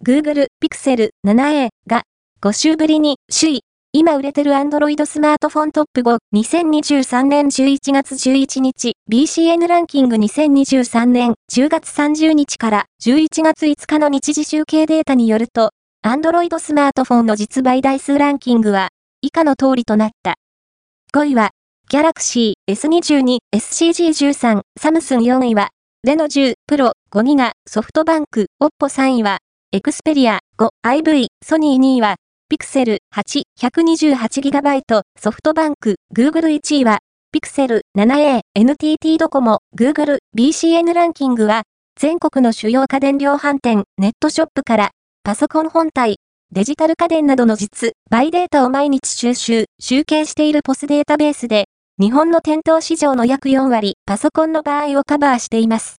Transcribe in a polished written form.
Google Pixel 7a が5週ぶりに首位。今売れてる Android スマートフォントップ5、2023年11月11日、BCN ランキング2023年10月30日から11月5日の日時集計データによると、Android スマートフォンの実売台数ランキングは、以下の通りとなった。5位は、Galaxy S22、SCG13、サムスン4位は、Reno 10 Pro、5ギガ、ソフトバンク、Oppo 3位は、Xperia 5、IV、ソニー2位は、Pixel 8、128GB、ソフトバンク、Google 1位は、Pixel 7a、NTT ドコモ、Google、BCN ランキングは、全国の主要家電量販店、ネットショップから、パソコン本体、デジタル家電などの実売データを毎日集計しているPOSデータベースで、日本の店頭市場の約4割、パソコンの場合をカバーしています。